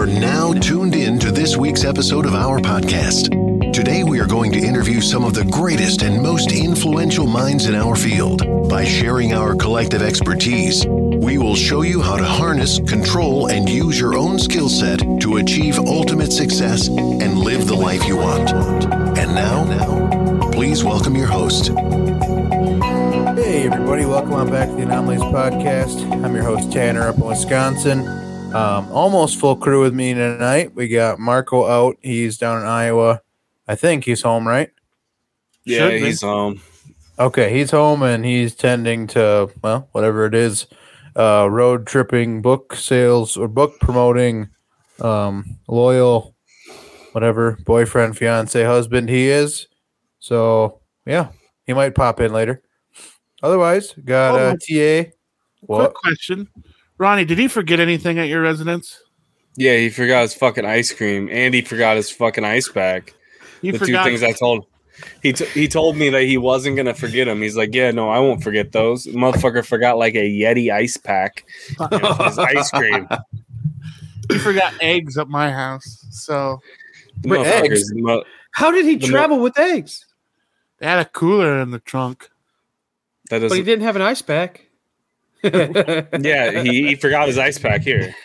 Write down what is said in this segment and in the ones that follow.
You're now tuned in to this week's episode of our podcast. Today we are going to interview some of the greatest and most influential minds in our field. By sharing our collective expertise, we will show you how to harness, control, and use your own skill set to achieve ultimate success and live the life you want. And now, please welcome your host. Hey everybody, welcome on back to the Anomalies Podcast. I'm your host Tanner up in Wisconsin. Almost full crew with me tonight. We got Marco out. He's down in Iowa. I think he's home, right? Yeah, he's home. Okay, he's home and he's tending to, well, whatever it is, road tripping, book sales, or book promoting, loyal, whatever, boyfriend, fiance, husband he is. So, yeah, he might pop in later. Otherwise, got TA. What? Quick question. Ronnie, did he forget anything at your residence? Yeah, he forgot his fucking ice cream, and he forgot his fucking ice pack. The two things I told he told me that he wasn't going to forget them. He's like, yeah, no, I won't forget those. The motherfucker forgot like a Yeti ice pack and his ice cream. He forgot eggs at my house. So, eggs? How did he travel with eggs? They had a cooler in the trunk. But he didn't have an ice pack. Yeah, he forgot his ice pack here.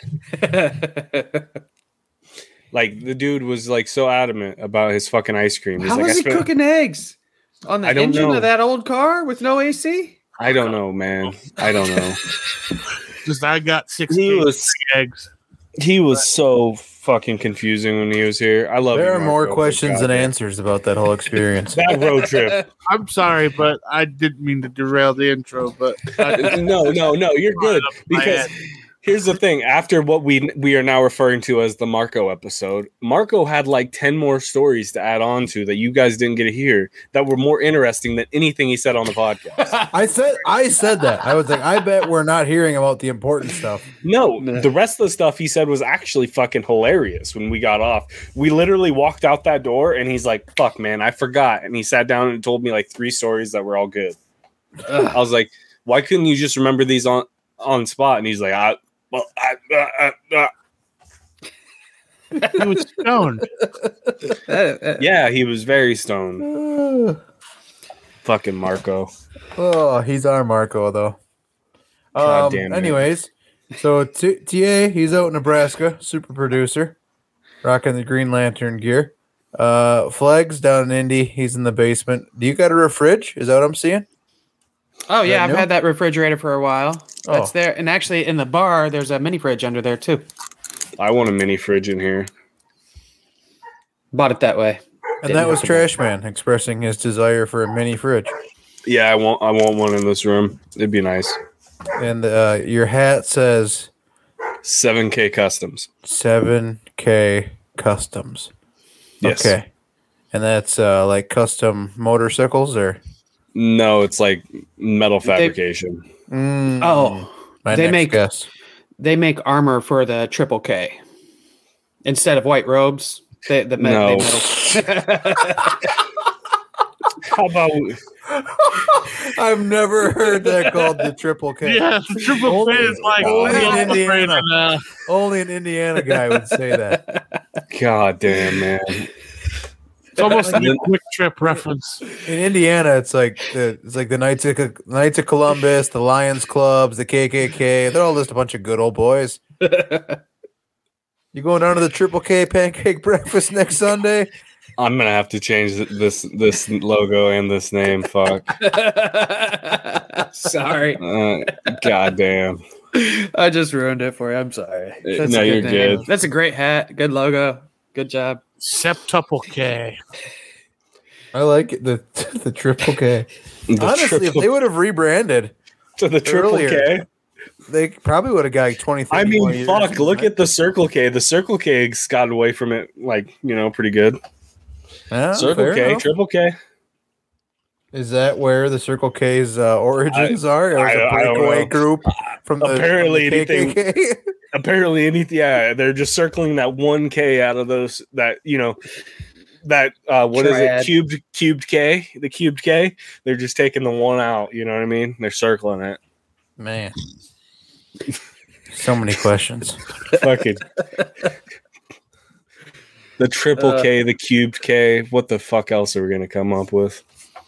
Like the dude was like so adamant about his fucking ice cream. How is he cooking eggs on the engine of that old car with no AC? I don't know, man. I don't know. Just I got 6 eggs. He was so fucking confusing when he was here. I love. There are more questions than answers about that whole experience. That road trip. I'm sorry, but I didn't mean to derail the intro. But no, you're good because here's the thing. After what we are now referring to as the Marco episode, Marco had like 10 more stories to add on to that you guys didn't get to hear that were more interesting than anything he said on the podcast. I said that. I was like, I bet we're not hearing about the important stuff. No, the rest of the stuff he said was actually fucking hilarious when we got off. We literally walked out that door and he's like, fuck, man, I forgot. And he sat down and told me like 3 stories that were all good. I was like, why couldn't you just remember these on spot? And he's like, he was stoned. Yeah, he was very stoned. Fucking Marco. Oh, he's our Marco, though. God damn it. Anyways, so TA, he's out in Nebraska, super producer, rocking the Green Lantern gear. Flags down in Indy, he's in the basement. Do you got a fridge? Is that what I'm seeing? Oh, yeah, I've had that refrigerator for a while. That's there. And actually, in the bar, there's a mini fridge under there, too. I want a mini fridge in here. Bought it that way. And that was Trash Man expressing his desire for a mini fridge. Yeah, I want one in this room. It'd be nice. And your hat says 7K Customs. 7K Customs. Yes. Okay. And that's like custom motorcycles or? No, it's like metal fabrication. They make armor for the Triple K instead of white robes. They metal. How about? I've never heard that called the Triple K. Yeah, Triple K is like only in Indiana. Only an Indiana guy would say that. God damn, man. It's almost like a Quick Trip reference. In Indiana, it's like the Knights of Columbus, the Lions Clubs, the KKK. They're all just a bunch of good old boys. You going down to the Triple K pancake breakfast next Sunday? I'm gonna have to change this logo and this name. Fuck. Sorry. God damn. I just ruined it for you. I'm sorry. No, you're good. That's a great hat. Good logo. Good job. Septuple K. I like it, the Triple K. Honestly, if they would have rebranded to the Triple K, they probably would have got 20, 30 I mean, fuck, years, look at the Circle K. The Circle K's got away from it, like, pretty good. Yeah, Circle K, enough. Triple K. Is that where the Circle K's origins are? Or is it a breakaway group from the KKK? Apparently anything. Yeah, they're just circling that 1K out of those. That what Triad. Is it? Cubed K. The cubed K. They're just taking the one out. You know what I mean? They're circling it. Man, so many questions. Fucking The triple K, the cubed K. What the fuck else are we gonna come up with?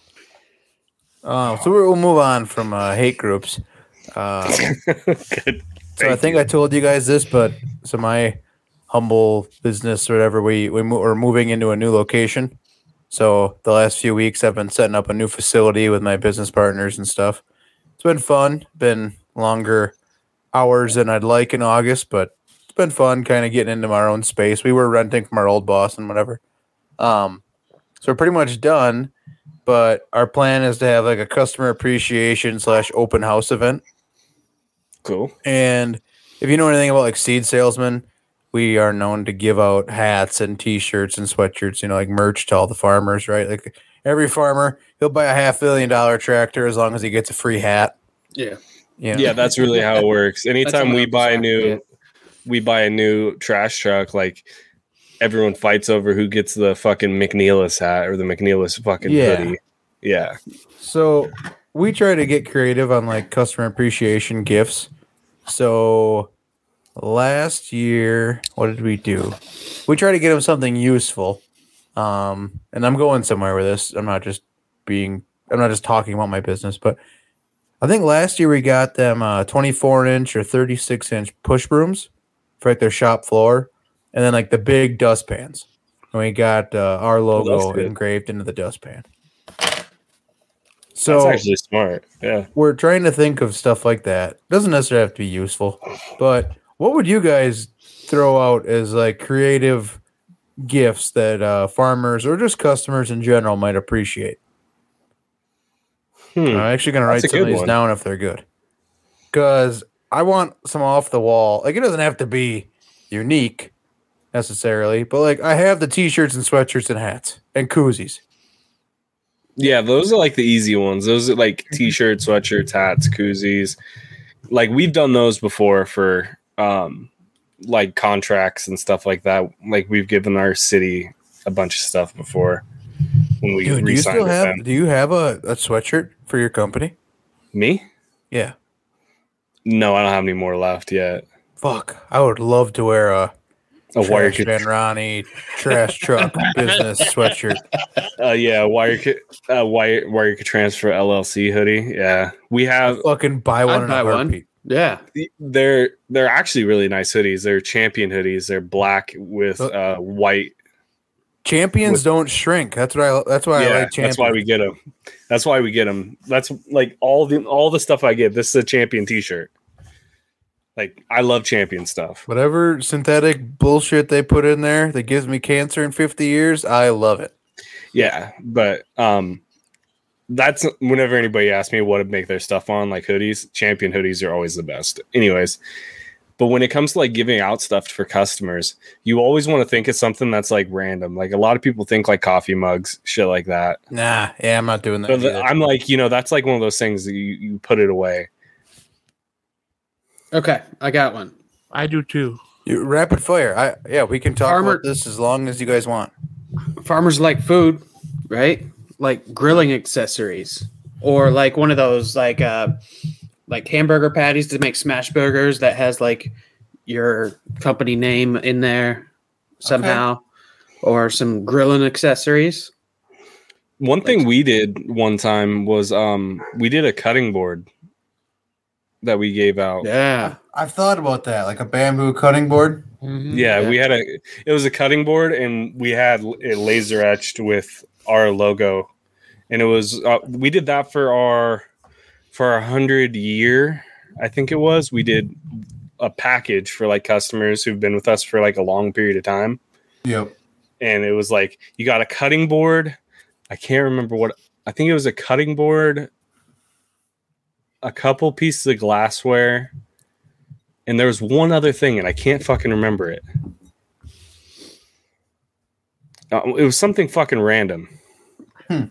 So we'll move on from hate groups. Good. So I think I told you guys this, but so my humble business or whatever, we're moving into a new location. So the last few weeks I've been setting up a new facility with my business partners and stuff. It's been fun. Been longer hours than I'd like in August, but it's been fun kind of getting into our own space. We were renting from our old boss and whatever. So we're pretty much done, but our plan is to have like a customer appreciation / open house event. Cool. And if you know anything about like Seed Salesman, we are known to give out hats and T-shirts and sweatshirts, like merch to all the farmers, right? Like every farmer, he'll buy a $500 million tractor as long as he gets a free hat. Yeah. Yeah, that's really how it works. Anytime we buy a new trash truck, like everyone fights over who gets the fucking McNeilus hat or the McNeilus fucking hoodie. Yeah. So we try to get creative on like customer appreciation gifts. So last year, what did we do? We try to get them something useful. And I'm going somewhere with this. I'm not just talking about my business, but I think last year we got them 24-inch or 36-inch push brooms for like their shop floor, and then like the big dustpans. And we got our logo engraved into the dustpan. So that's actually smart. Yeah, we're trying to think of stuff like that. Doesn't necessarily have to be useful, but what would you guys throw out as like creative gifts that farmers or just customers in general might appreciate? I'm actually going to write some of these down if they're good, because I want some off the wall. Like it doesn't have to be unique necessarily, but like I have the T-shirts and sweatshirts and hats and koozies. Yeah, those are like the easy ones. Those are like T-shirts, sweatshirts, hats, koozies. Like we've done those before for like contracts and stuff like that. Like we've given our city a bunch of stuff before when we re-signed with them. Do you have a sweatshirt for your company? Me? Yeah. No, I don't have any more left yet. Fuck, I would love to wear a Wire Van Ronnie trash truck business sweatshirt. Yeah, Wire Transfer LLC hoodie. Yeah, we have. I'll fucking buy one in a heartbeat. Yeah, they're actually really nice hoodies. They're champion hoodies. They're black with white. Champions don't shrink. That's why I like champions. That's why we get them. That's like all the stuff I get. This is a champion T-shirt. Like I love champion stuff. Whatever synthetic bullshit they put in there that gives me cancer in 50 years, I love it. Yeah, but that's whenever anybody asks me what to make their stuff on, like hoodies, champion hoodies are always the best. Anyways, but when it comes to like giving out stuff for customers, you always want to think of something that's like random. Like a lot of people think like coffee mugs, shit like that. Nah, yeah, I'm not doing that. But I'm like, that's like one of those things that you put it away. Okay, I got one. I do too. Rapid fire. We can talk about this as long as you guys want. Farmers like food, right? Like grilling accessories, or like one of those like hamburger patties to make smash burgers that has like your company name in there somehow, or some grilling accessories. One thing we did one time was we did a cutting board that we gave out. Yeah, I've thought about that, like a bamboo cutting board. Mm-hmm. Yeah, it was a cutting board, and we had it laser etched with our logo, and it was we did that for our 100 year, I think it was. We did a package for like customers who've been with us for like a long period of time. Yep. And it was like you got a cutting board. I can't remember what. I think it was a cutting board, a couple pieces of glassware, and there was one other thing, and I can't fucking remember it. It was something fucking random. I'm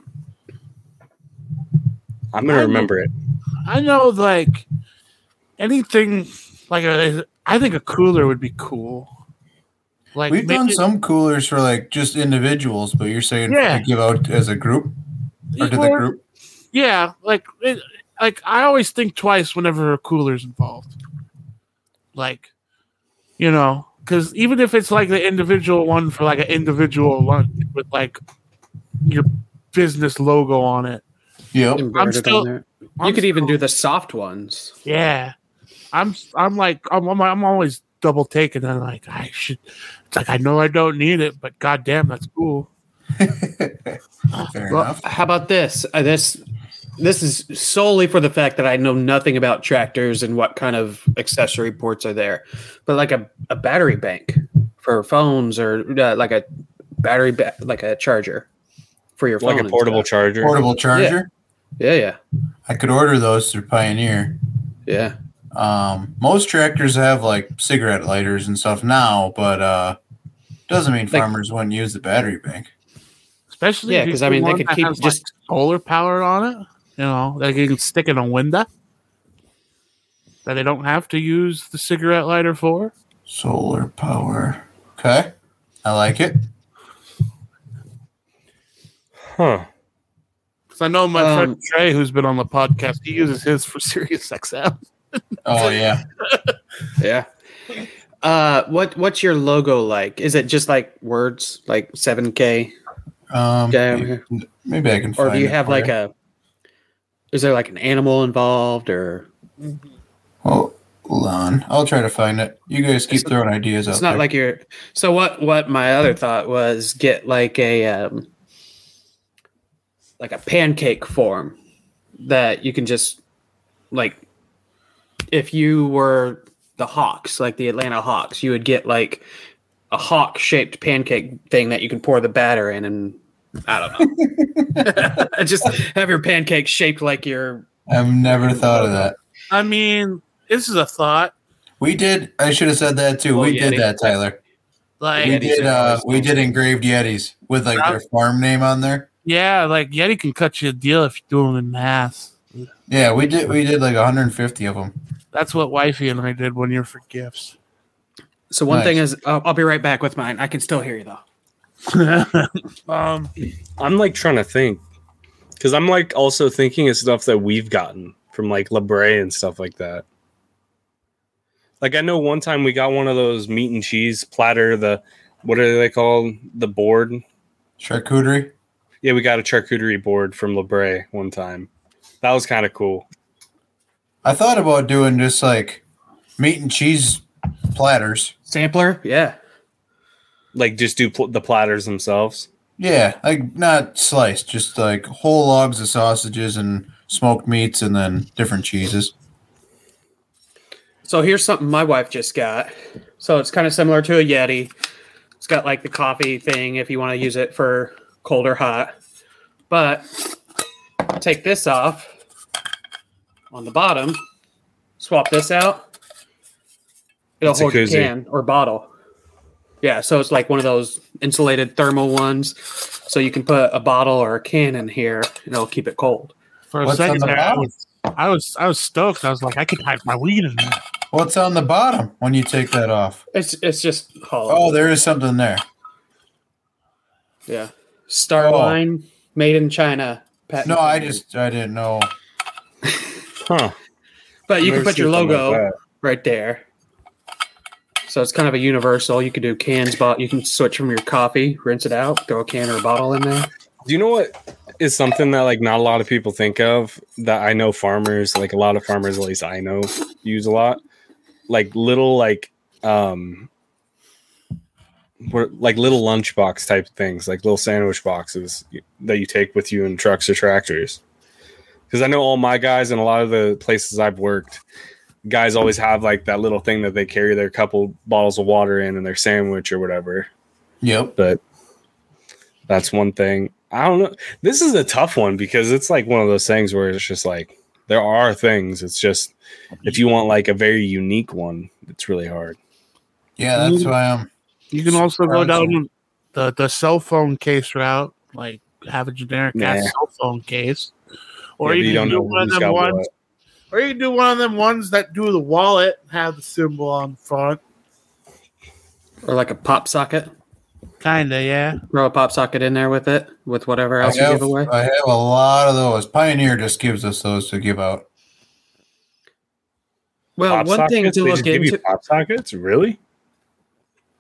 gonna remember it. I know, like anything, like I think a cooler would be cool. Like we've done some coolers for like just individuals, but you're saying to give out as a group or to the group? Yeah, like I always think twice whenever a cooler's involved. Like, because even if it's like the individual one for like an individual lunch with like your business logo on it, Yep. Embroidered still- on there. I'm You could even still- do the soft ones. yeah. I'm always double taking and like I should. It's like I know I don't need it, but goddamn, that's cool. Fair Well, enough. how about this? This is solely for the fact that I know nothing about tractors and what kind of accessory ports are there. But like a battery bank for phones, or like a battery like a charger for your phone, Like a and portable stuff. charger. Portable charger. Yeah. I could order those through Pioneer. Yeah. Most tractors have like cigarette lighters and stuff now, but doesn't mean Like- farmers wouldn't use the battery bank. Especially Yeah, if you 'cause, I get mean, they one could that keep has, just- like, solar power on it. You know, like you can stick in a window that they don't have to use the cigarette lighter for. Solar power. Okay, I like it. Huh. Because I know my Um, friend Trey, who's been on the podcast, he uses his for Sirius XM. Oh yeah. Yeah. What's your logo like? Is it just like words, like 7K? Yeah. Maybe I can. Or find do you it have for like you. is there like an animal involved, or Oh, hold on. I'll try to find it. You guys keep throwing ideas out it's not there. like you're, so what my other thought was get like a pancake form that you can just, like, if you were the Hawks, like the Atlanta Hawks, you would get like a hawk shaped pancake thing that you can pour the batter in, and I don't know. Just have your pancake shaped like your, I've never thought of that. I mean, this is a thought. We did. I should have said that too. Oh, We did Yeti. that, Tyler. Like, We Yetis did. are always We did engraved Yetis with like their farm name on there. yeah, like Yeti can cut you a deal if you do them in mass. Yeah, we did. We did like 150 of them. That's what Wifey and I did 1 year for gifts. so one Nice. thing is, I'll be right back with mine. I can still hear you though. um, I'm like trying to think because I'm like also thinking of stuff that we've gotten from like LeBray and stuff like that. Like I know one time we got one of those meat and cheese platter. What are they called? The board. Charcuterie. Yeah, we got a charcuterie board from LeBray one time. That was kind of cool. I thought about doing just like meat and cheese platters. Sampler, yeah. Like just do the platters themselves. Yeah, like not sliced, just like whole logs of sausages and smoked meats, and then different cheeses. So here's something my wife just got. So it's kind of similar to a Yeti. It's got like the coffee thing if you want to use it for cold or hot. But take this off on the bottom, swap this out. It'll It's a hold your koozie. can or bottle. Yeah, so it's like one of those insulated thermal ones. So you can put a bottle or a can in here and it'll keep it cold. for a What's on second the there, bottom? I was stoked. I was like, I could hide my weed in there. What's on the bottom when you take that off? It's just hollow. Oh, there is something there. Yeah. Starline, made in China. patent No, I pending. didn't know. Huh. But you can Never put your seen something logo like that. right there. So it's kind of a universal. You could do cans, you can switch from your coffee, rinse it out, throw a can or a bottle in there. Do you know what is something that like not a lot of people think of that I know farmers, like a lot of farmers, at least I know, use a lot? Like little like little lunchbox type things, like little sandwich boxes that you take with you in trucks or tractors. Because I know all my guys and a lot of the places I've worked, guys always have like that little thing that they carry their couple bottles of water in and their sandwich or whatever. Yep. But that's one thing. I don't know. This is a tough one because it's like one of those things where it's just like there are things. It's just if you want like a very unique one, it's really hard. Yeah, that's why I'm. You can also go Surprising. down the cell phone case route, like have a generic ass Nah. cell phone case, or Yeah, but you you can don't do know one of who's them got ones, what. or you can do one of them ones that do the wallet, and have the symbol on the front. Or like a pop socket. Kinda, yeah. Throw a pop socket in there with it, with whatever I else you have, give away. I have a lot of those. Pioneer just gives us those to give out. Well, Pop one thing sockets? to They look just give you into. pop sockets, really?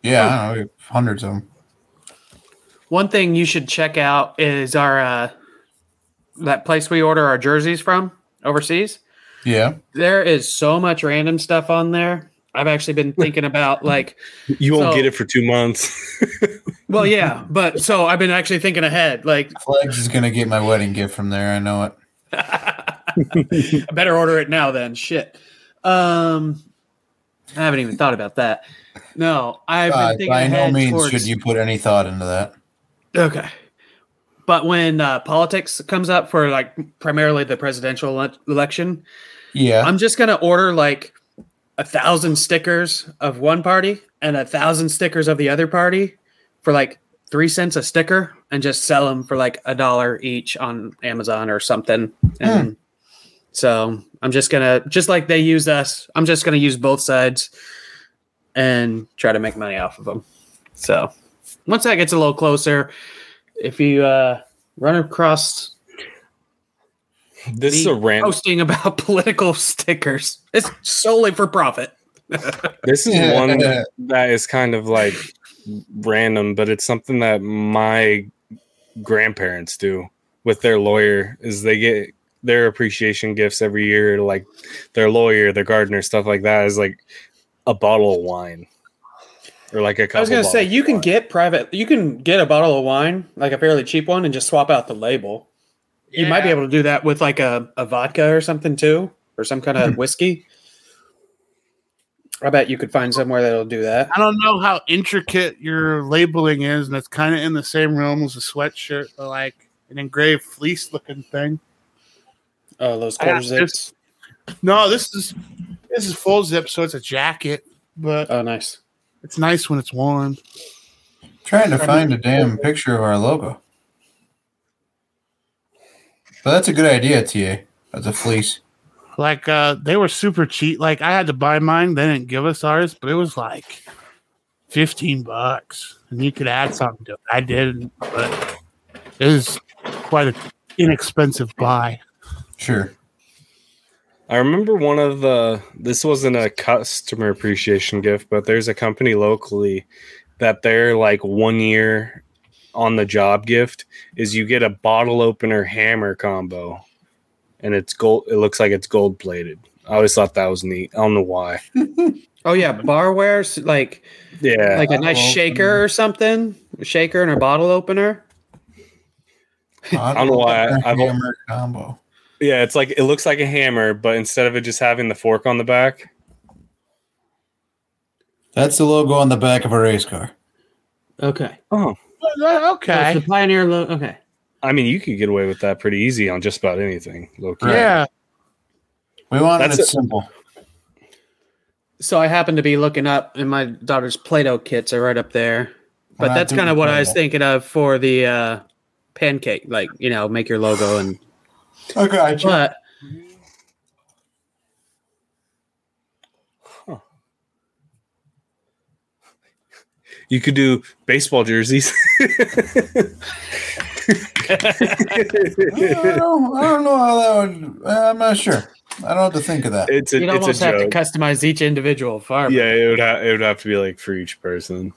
Yeah, I don't know, hundreds of them. One thing you should check out is our that place we order our jerseys from overseas. Yeah. There is so much random stuff on there. I've actually been thinking about like You won't So- get it for 2 months. well, yeah, but so I've been actually thinking ahead. Like Flags is gonna get my wedding gift from there. I know it. I better order it now then. Shit. I haven't even thought about that. No, I've been thinking By no ahead means towards, should you put any thought into that. Okay. But when politics comes up for like primarily the presidential election, Yeah. I'm just gonna order like 1,000 stickers of one party and 1,000 stickers of the other party for like 3 cents a sticker, and just sell them for like $1 each on Amazon or something. And so I'm just gonna, just like they use us, I'm just gonna use both sides and try to make money off of them. So once that gets a little closer, if you run across This is a rant. posting about political stickers, it's solely for profit. This is one that is kind of like random, but it's something that my grandparents do with their lawyer. Is they get their appreciation gifts every year, to like their lawyer, their gardener, stuff like that. Is like a bottle of wine or like a couple. I was gonna say bottles you of can wine. get a bottle of wine, like a fairly cheap one, and just swap out the label. You might be able to do that with like a vodka or something too, or some kind of whiskey. I bet you could find somewhere that'll do that. I don't know how intricate your labeling is, and it's kind of in the same realm as a sweatshirt, but like an engraved fleece looking thing. Oh, those I quarter got zips. No, this is full zip, so it's a jacket, but Oh, nice. it's nice when it's worn. Trying to find a damn picture of our logo. But that's a good idea, TA. That's a fleece. Like they were super cheap. Like I had to buy mine. They didn't give us ours, but it was like $15, and you could add something to it. I didn't, but it was quite an inexpensive buy. Sure. I remember one of the. This wasn't a customer appreciation gift, but there's a company locally that they're like 1 year on the job gift is you get a bottle opener hammer combo, and it's gold. It looks like it's gold plated. I always thought that was neat. I don't know why. Oh yeah, barware, like Yeah, like a nice Bottle shaker opener. or something, a shaker and a bottle opener. I don't know why I've- hammer combo. yeah. It's like it looks like a hammer, but instead of it just having the fork on the back, That's the logo on the back of a race car. Okay. oh, Okay. The Pioneer logo. Okay. I mean, you could get away with that pretty easy on just about anything. Low-key. Right. Yeah. We wanted That's it it. simple. So I happen to be looking up, and my daughter's Play-Doh kits are right up there. We're But not that's doing kind of what I was Play-Doh. thinking of for the pancake, like, make your logo and. I got you. But You could do baseball jerseys. I don't know how that would. I'm not sure. I don't have to think of that. It's you'd a almost have to joke. customize each individual farm. Yeah, it would have to be like for each person.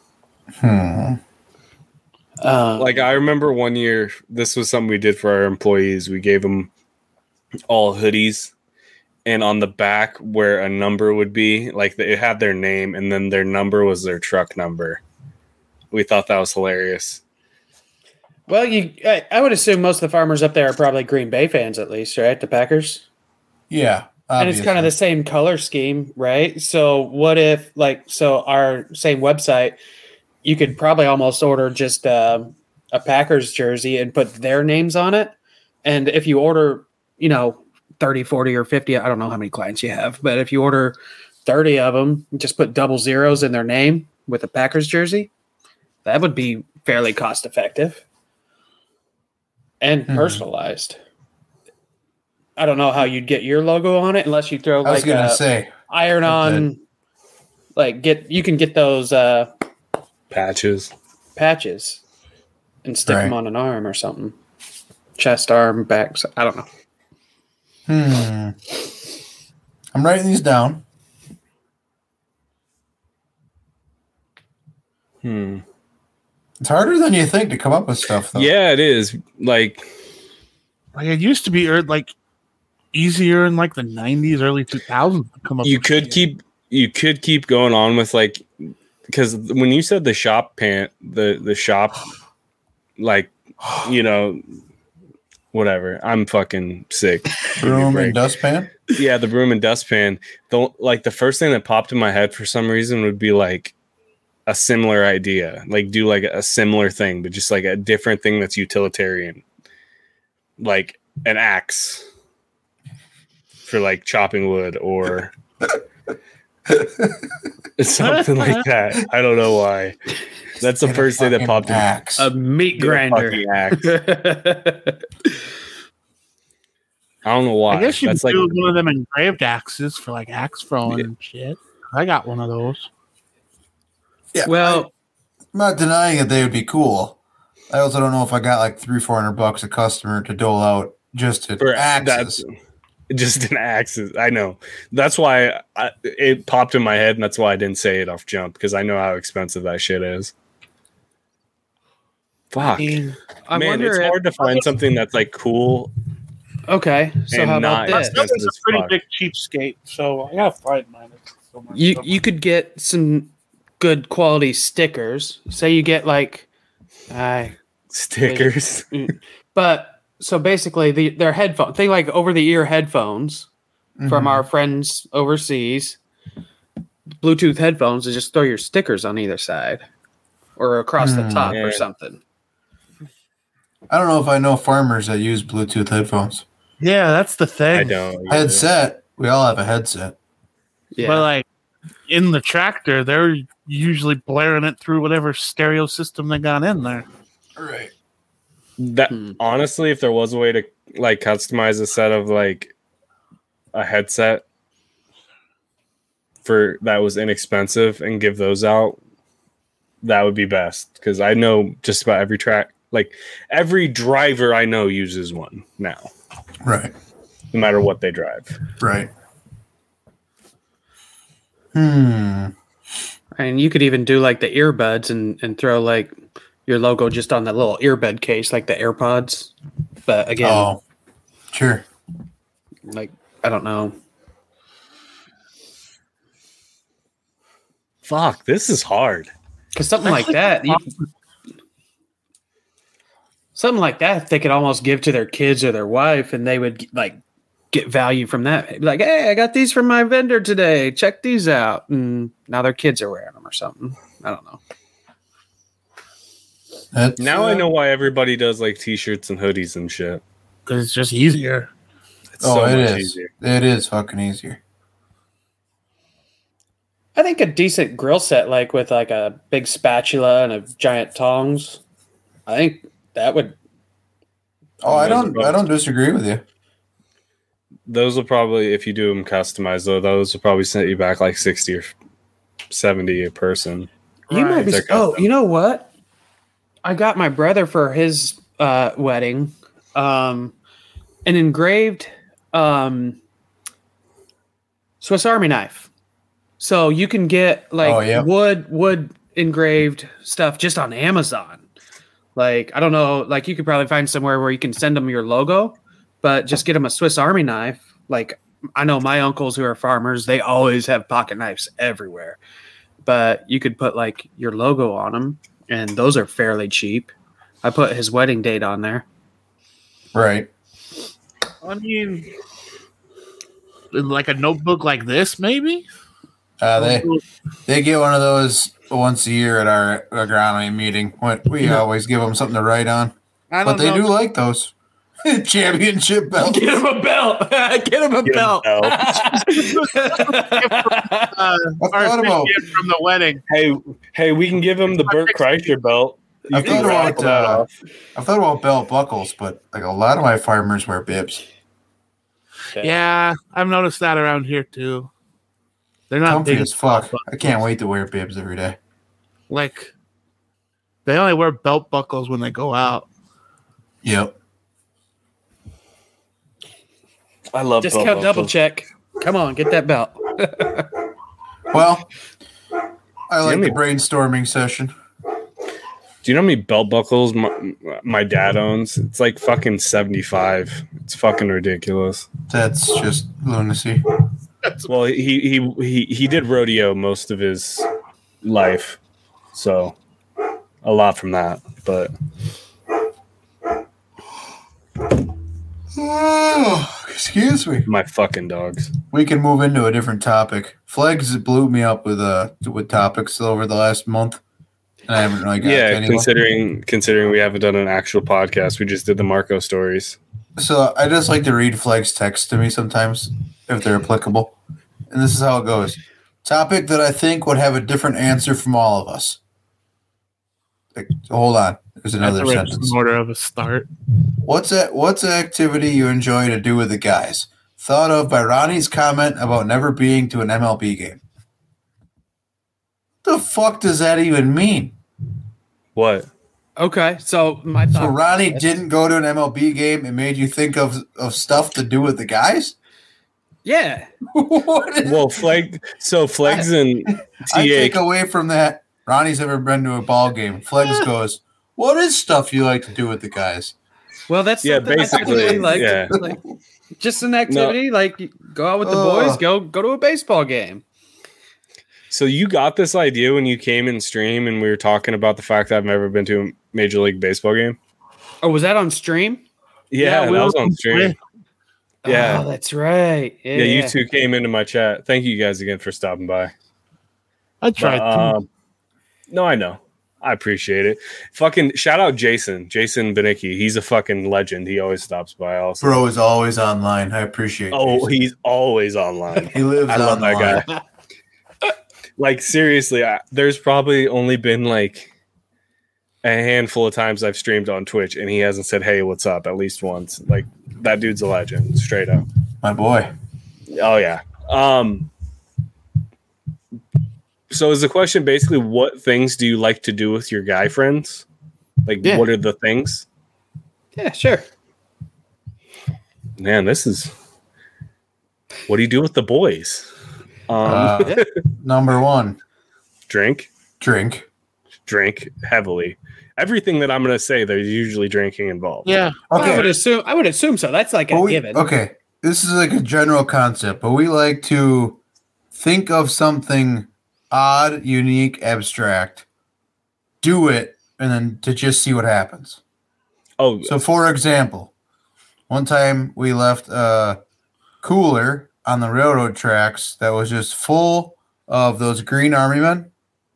Like I remember one year, this was something we did for our employees. We gave them all hoodies, and on the back where a number would be, like it had their name, and then their number was their truck number. We thought that was hilarious. Well, I would assume most of the farmers up there are probably Green Bay fans, at least, right? The Packers. Yeah. And it's kind of the same color scheme, right? So what if, our same website, you could probably almost order just a Packers jersey and put their names on it. And if you order, 30, 40, or 50, I don't know how many clients you have, but if you order 30 of them, just put double zeros in their name with a Packers jersey, that would be fairly cost effective and personalized. I don't know how you'd get your logo on it unless you throw I was like gonna a say. iron-on, you can get those Patches. patches and stick Right. them on an arm or something, chest, arm, back. I don't know. I'm writing these down. It's harder than you think to come up with stuff, though. Yeah, it is. Like it used to be like easier in like the 90s, early 2000s to come up. You could keep going on with like, because when you said the shop pant, the shop, like, you know, whatever. I'm fucking sick. Broom and dustpan. Yeah, the broom and dustpan. The first thing that popped in my head for some reason would be like a similar idea, like do like a similar thing, but just like a different thing that's utilitarian, like an axe for like chopping wood or something like that. I don't know why. That's the first thing that popped in. A meat grinder. Axe. I don't know why. I guess you that's could like do one of them engraved axes for like axe throwing and shit. I got one of those. Yeah, Well, I'm not denying that they would be cool. I also don't know if I got like $300-400 a customer to dole out just to for axes. just an axe. I know. That's why it popped in my head, and that's why I didn't say it off jump, because I know how expensive that shit is. Fuck. I Man, wonder it's if- hard to find something that's like cool. Okay, so And how not about this? expensive. That's a as pretty fuck. big cheapskate, so I gotta find mine. So much You stuff. you could get some good quality stickers. Say you get like, Stickers. but so basically their headphone thing, like over the ear headphones from our friends overseas, Bluetooth headphones, to just throw your stickers on either side or across the top Yeah. or something. I don't know if I know farmers that use Bluetooth headphones. Yeah, that's the thing. I don't. Headset. We all have a headset. Yeah, But like in the tractor, they're usually blaring it through whatever stereo system they got in there. Right. That honestly, if there was a way to like customize a set of like a headset for that was inexpensive and give those out, that would be best, because I know just about every track, like every driver I know uses one now, Right. no matter what they drive. Right. and you could even do like the earbuds and throw like your logo just on that little earbud case, like the AirPods. But again, Oh, sure. like I don't know. Fuck, this is hard. Because something like that, something like that, they could almost give to their kids or their wife, and they would like get value from that. Be like, hey, I got these from my vendor today. Check these out. And now their kids are wearing them or something. I don't know. That's, Now I know why everybody does like t-shirts and hoodies and shit. Because it's just easier. It's Oh, so it much is. easier. It is fucking easier. I think a decent grill set, like with like a big spatula and a giant tongs, I think that would. Oh, I don't disagree with you. Those will probably, if you do them customized though, those will probably set you back like 60 or 70 a person. You might be. They're Oh, custom. you know what? I got my brother for his wedding, an engraved Swiss Army knife. So you can get like wood engraved stuff just on Amazon. Like I don't know, like you could probably find somewhere where you can send them your logo, but just get them a Swiss Army knife. Like I know my uncles who are farmers, they always have pocket knives everywhere. But you could put like your logo on them, and those are fairly cheap. I put his wedding date on there. Right. I mean, like a notebook like this, maybe? They get one of those once a year at our agronomy meeting. We always give them something to write on. I But don't they know. do like those. Championship belts. Get him a belt. Get him a belt. I Our thought about gift from the wedding. Hey, we can give him the Burt Kreischer belt. You I can thought raffle about that off. I've thought about belt buckles, but like a lot of my farmers wear bibs. Yeah, I've noticed that around here too. They're not Comfy big as fuck. I can't wait to wear bibs every day. Like they only wear belt buckles when they go out. Yep. I love Discount belt double buckles. check. Come on, get that belt. Well, I like Jimmy. the brainstorming session. Do you know how many belt buckles my dad owns? It's like fucking 75. It's fucking ridiculous. That's just lunacy. Well, he did rodeo most of his life, so a lot from that. But Oh, excuse me. my fucking dogs. We can move into a different topic. Flags blew me up with topics over the last month, and I haven't really got to Yeah, anyone. considering we haven't done an actual podcast, we just did the Marco stories. So I just like to read Flags text to me sometimes if they're applicable, and this is how it goes. Topic that I think would have a different answer from all of us. Like, hold on. There's another sentence. In order of a start. What's an activity you enjoy to do with the guys? Thought of by Ronnie's comment about never being to an MLB game. The fuck does that even mean? What? Okay, so my So thought. Ronnie didn't go to an MLB game and made you think of stuff to do with the guys? Yeah. What is- Well, Flags and I take TA. away from that. Ronnie's never been to a ball game. Flex goes, what is stuff you like to do with the guys? Well, that's Yeah, something I basically, typically like. yeah. Like, just an activity, like you go out with the boys, go to a baseball game. So you got this idea when you came in stream and we were talking about the fact that I've never been to a Major League Baseball game. Oh, was that on stream? Yeah, we that was all on stream. Yeah. Oh, that's right. Yeah, Yeah, you two came into my chat. Thank you guys again for stopping by. I tried. But, no, I know. I appreciate it. Fucking shout out Jason Benicki. He's a fucking legend. He always stops by. Also, Bro is always online. I appreciate it. oh, he's always online. He lives I love online. that guy. Like seriously, there's probably only been like a handful of times I've streamed on Twitch, and he hasn't said, "Hey, what's up?" at least once. Like that dude's a legend, straight up. My boy. Oh yeah. So is the question basically what things do you like to do with your guy friends? Like Yeah. what are the things? Yeah, sure. Man, this is what do you do with the boys? Number one, Drink heavily. Everything that I'm gonna say, there's usually drinking involved. Yeah. Okay. I would assume so. That's like But a given. Okay, this is like a general concept, but we like to think of something odd, unique, abstract, do it, and then to just see what happens. Oh, So, for example, one time we left a cooler on the railroad tracks that was just full of those green army men.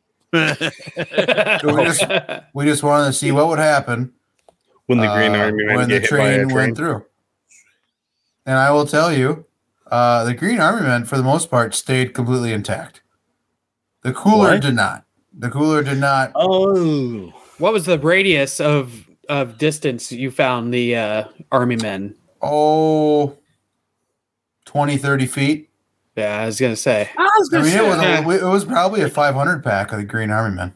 So we just wanted to see what would happen when the Green Army men when the get hit by a train train. went through. And I will tell you, the Green Army men, for the most part, stayed completely intact. The cooler What? did not. The cooler did not. Oh, What was the radius of distance you found the army men? Oh, 20, 30 feet. Yeah, I was gonna say. I was I gonna mean, say, it was probably a 500 pack of the Green Army men.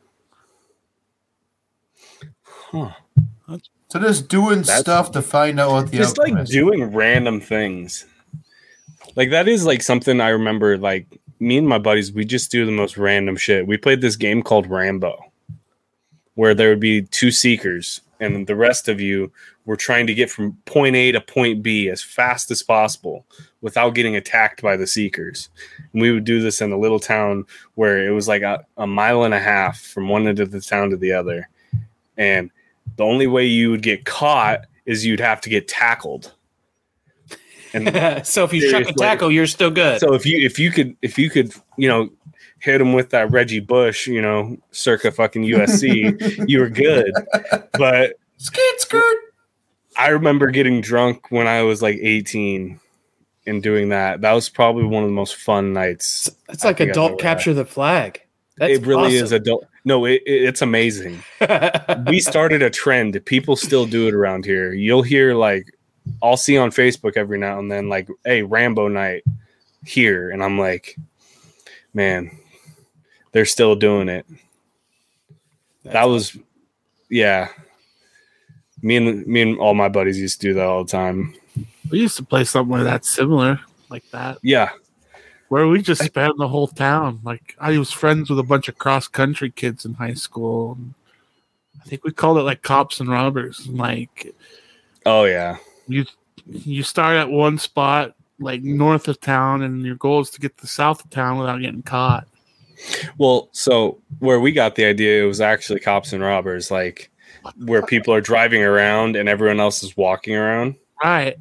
huh. So just doing That's- stuff to find out what the Just outcome like is. doing random things. Like that is like something I remember. Like me and my buddies, we just do the most random shit. We played this game called Rambo, where there would be two seekers, and the rest of you were trying to get from point A to point B as fast as possible without getting attacked by the seekers. And we would do this in a little town where it was like a mile and a half from one end of the town to the other. And the only way you would get caught is you'd have to get tackled. And So if you chuck a Seriously. tackle, you're still good. so if you could hit him with that Reggie Bush, circa fucking USC, you were good. But Skeet skirt. I remember getting drunk when I was like 18 and doing that. That was probably one of the most fun nights. It's like I think I've adult ever capture the flag. That's it really is awesome. adult. No, it's amazing. We started a trend. People still do it around here. You'll hear like, I'll see on Facebook every now and then, like, hey, Rambo night here. And I'm like, man, they're still doing it. That was, yeah. Me and all my buddies used to do that all the time. we used to play somewhere that's similar like that, Yeah. where we just spanned the whole town. Like I was friends with a bunch of cross country kids in high school. I think we called it like cops and robbers. Like Oh yeah. you start at one spot like north of town, and your goal is to get to the south of town without getting caught. Well, so where we got the idea, it was actually cops and robbers, like where people are driving around and everyone else is walking around. Right.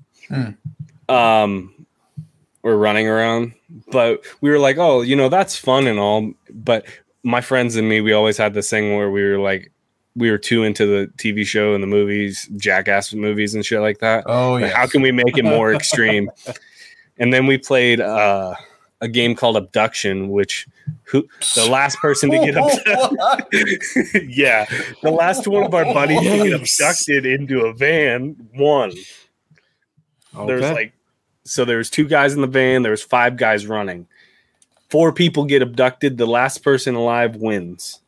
Or running around. But we were like, oh, that's fun and all. But my friends and me, we always had this thing where we were too into the TV show and the movies, Jackass movies and shit like that. Oh, Like, yeah. how can we make it more extreme? And then we played a game called Abduction, which the last person to get abducted. Yeah. The last one of our buddies to get abducted into a van won. Okay. There was 2 guys in the van. There was 5 guys running. 4 people get abducted. The last person alive wins.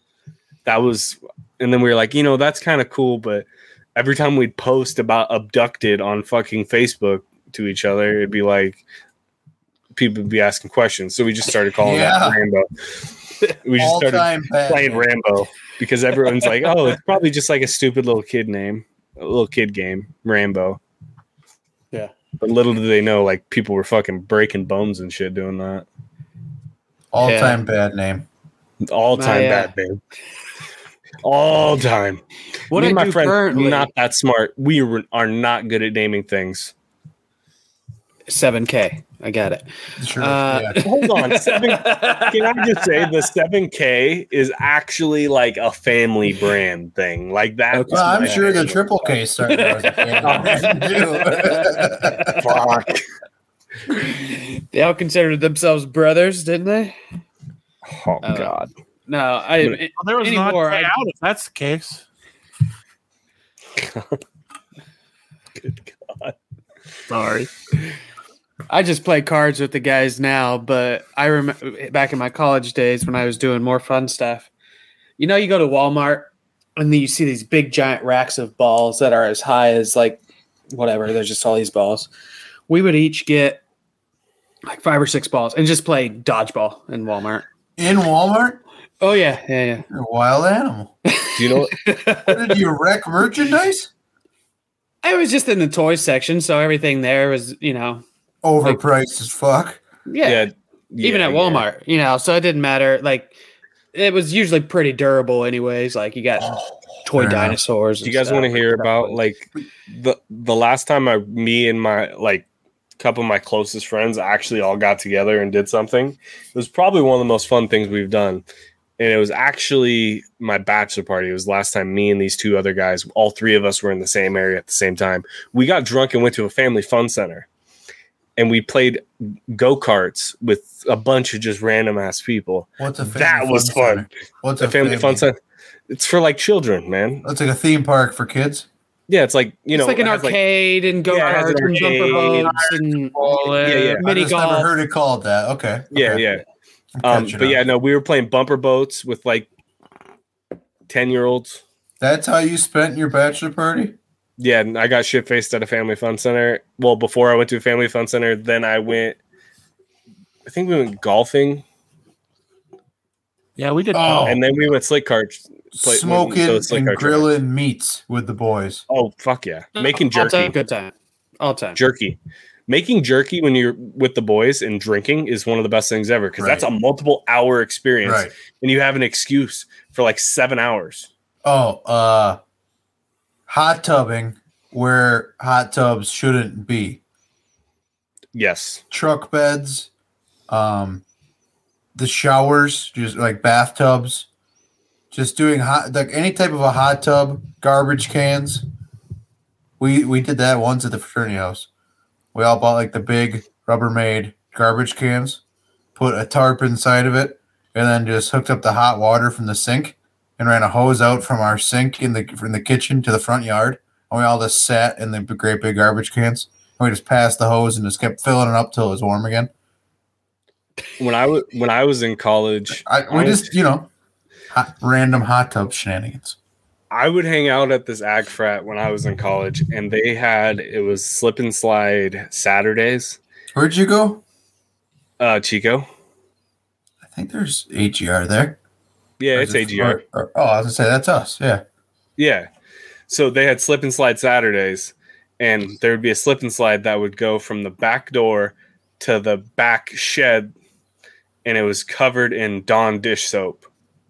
And then we were like, that's kind of cool. But every time we'd post about abducted on fucking Facebook to each other, it'd be like, people would be asking questions. So we just started calling it Rambo. We just started playing Rambo because everyone's like, oh, it's probably just like a stupid little kid name, a little kid game, Rambo. Yeah. But little did they know, like, people were fucking breaking bones and shit doing that. All-time bad name. All-time bad name. All time. What Me I and my do friends currently, not that smart. We are not good at naming things. 7K. I got it. Sure. Hold on. Can I just say the 7K is actually like a family brand thing. Like that. Okay. Well, I'm sure the Triple K started as a family. Fuck. They all considered themselves brothers, didn't they? Oh God. No, Well, there was not anymore. out if that's the case. Good God. Sorry. I just play cards with the guys now, but I remember back in my college days when I was doing more fun stuff. You go to Walmart and then you see these big giant racks of balls that are as high as like whatever. There's just all these balls. We would each get like 5 or 6 balls and just play dodgeball in Walmart. In Walmart? Oh yeah. You're a wild animal. Do you know What, did you wreck merchandise? I was just in the toy section, so everything there was, Overpriced as fuck. even at Walmart, so it didn't matter. Like, it was usually pretty durable, anyways. Like, you got toy fair enough. dinosaurs. Do you guys want to hear about like the last time me and my like couple of my closest friends actually all got together and did something? It was probably one of the most fun things we've done. And it was actually my bachelor party. It was the last time me and these 2 other guys, all 3 of us were in the same area at the same time. We got drunk and went to a family fun center. And we played go-karts with a bunch of just random ass people. What's a family That was fun fun. center? What's A family fun center. It's for like children, man. That's like a theme park for kids. Yeah, it's like, It's like an it has, arcade and Yeah, it has go-karts an and bumper arcade. boats and Yeah. mini I just never golf. heard it called that. Okay. Yeah, Okay. yeah. I'm catching But up. yeah, no, we were playing bumper boats with like 10-year-olds. That's how you spent your bachelor party? Yeah, and I got shit faced at a family fun center. Well, before I went to a family fun center, then I think we went golfing, Yeah, we did. Oh. and then we went slick carts. Smoking and grilling meats with the boys. Oh, fuck yeah. Making All jerky. time, good time. All time. Jerky. Making jerky when you're with the boys and drinking is one of the best things ever because that's a multiple hour experience. Right. And you have an excuse for like 7 hours. Oh, hot tubbing where hot tubs shouldn't be. Yes. Truck beds, the showers, just like bathtubs, just doing like any type of a hot tub, garbage cans. We did that once at the fraternity house. We all bought like the big Rubbermaid garbage cans, put a tarp inside of it, and then just hooked up the hot water from the sink and ran a hose out from our sink in the kitchen to the front yard. And we all just sat in the great big garbage cans. And we just passed the hose and just kept filling it up till it was warm again. When I was in college, Random hot tub shenanigans. I would hang out at this ag frat when I was in college, and it was slip and slide Saturdays. Where'd you go? Chico. I think there's AGR there. Yeah, Or it's is it- AGR. oh, I was gonna say that's us. Yeah. Yeah. So they had slip and slide Saturdays, and there would be a slip and slide that would go from the back door to the back shed, and it was covered in Dawn dish soap.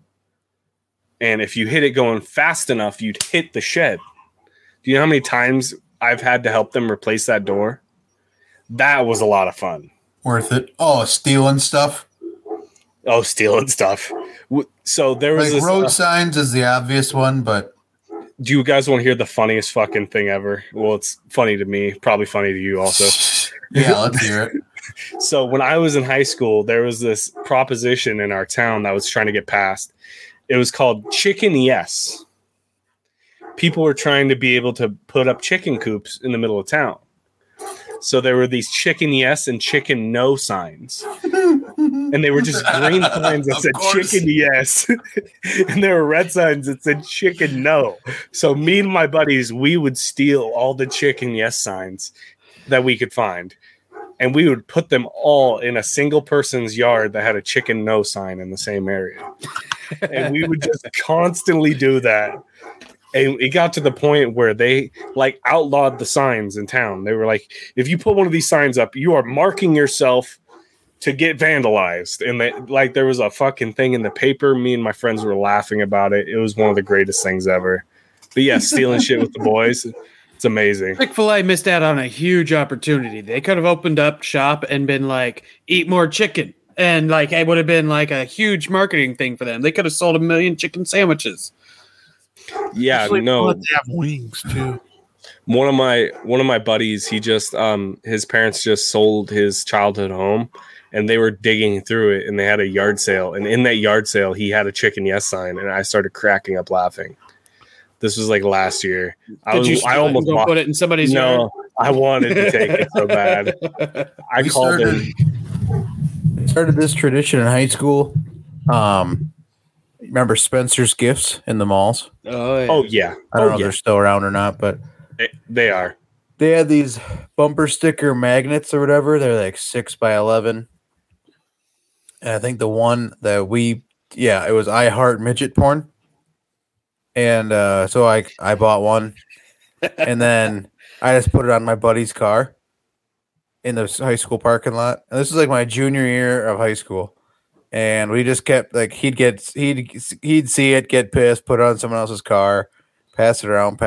And if you hit it going fast enough, you'd hit the shed. Do you know how many times I've had to help them replace that door? That was a lot of fun. Worth it. Oh, stealing stuff. Oh, stealing stuff. So there was Like this. road signs is the obvious one, but Do you guys want to hear the funniest fucking thing ever? Well, it's funny to me, probably funny to you also. yeah, let's hear it. So when I was in high school, there was this proposition in our town that was trying to get passed. It was called Chicken Yes. People were trying to be able to put up chicken coops in the middle of town. So there were these Chicken Yes and Chicken No signs. And they were just green signs that Of said course. Chicken Yes. And there were red signs that said Chicken No. So me and my buddies, we would steal all the Chicken Yes signs that we could find. And we would put them all in a single person's yard that had a Chicken No sign in the same area. And we would just constantly do that. And it got to the point where they like outlawed the signs in town. They were like, if you put one of these signs up, you are marking yourself to get vandalized. And they, like, there was a fucking thing in the paper. Me and my friends were laughing about it. It was one of the greatest things ever. But yeah, stealing shit with the boys, it's amazing. Chick-fil-A missed out on a huge opportunity. They could have opened up shop and been like, eat more chicken. And like, it would have been like a huge marketing thing for them. They could have sold 1 million chicken sandwiches. Yeah, Actually, no. let they have wings too. One of my buddies, he just his parents just sold his childhood home, and they were digging through it, and they had a yard sale, and in that yard sale he had a Chicken Yes sign, and I started cracking up laughing. This was like last year. I almost go put it in somebody's yard? no, I wanted to take it so bad. I We called started this tradition in high school. Remember Spencer's Gifts in the malls? Oh, yeah. Oh yeah, I don't know if they're still around or not, but they are. they had these bumper sticker magnets or whatever. They're like 6x11. And I think the one that it was I Heart Midget Porn. And so I bought one. And then I just put it on my buddy's car in the high school parking lot. And this is like my junior year of high school. And we just kept like he'd see it, get pissed, put it on someone else's car, pass it around.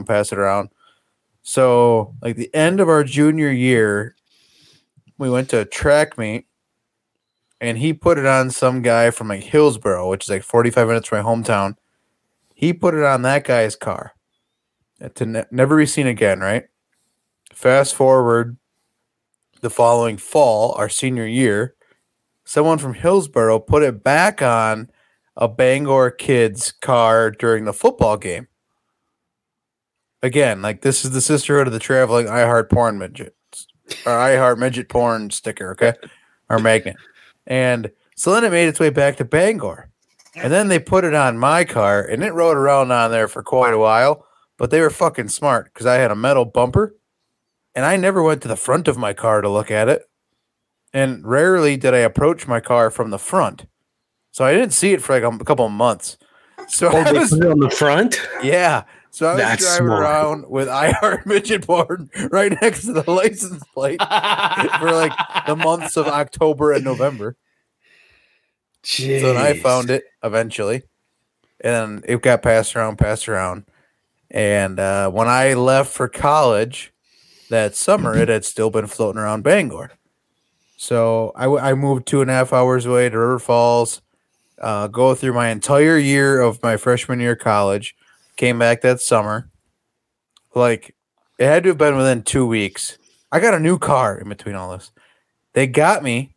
So like the end of our junior year, we went to a track meet, and he put it on some guy from like Hillsboro, which is like 45 minutes from my hometown. He put it on that guy's car to never be seen again. Right. Fast forward, the following fall, our senior year. Someone from Hillsboro put it back on a Bangor kid's car during the football game. Again, like this is the sisterhood of the traveling I Heart Porn Midgets or I Heart Midget Porn sticker, okay? Or magnet. And so then it made its way back to Bangor. And then they put it on my car and it rode around on there for quite a while, but they were fucking smart because I had a metal bumper and I never went to the front of my car to look at it. And rarely did I approach my car from the front. So I didn't see it for like a couple of months. So I was, Put it on the front. yeah. So I was That's driving smart. around with I Heart Midget Porn right next to the license plate for like the months of October and November. So then I found it eventually. And it got passed around. And when I left for college that summer, it had still been floating around Bangor. So I moved 2.5 hours away to River Falls, go through my entire year of my freshman year of college, came back that summer. Like, it had to have been within 2 weeks. I got a new car in between all this. They got me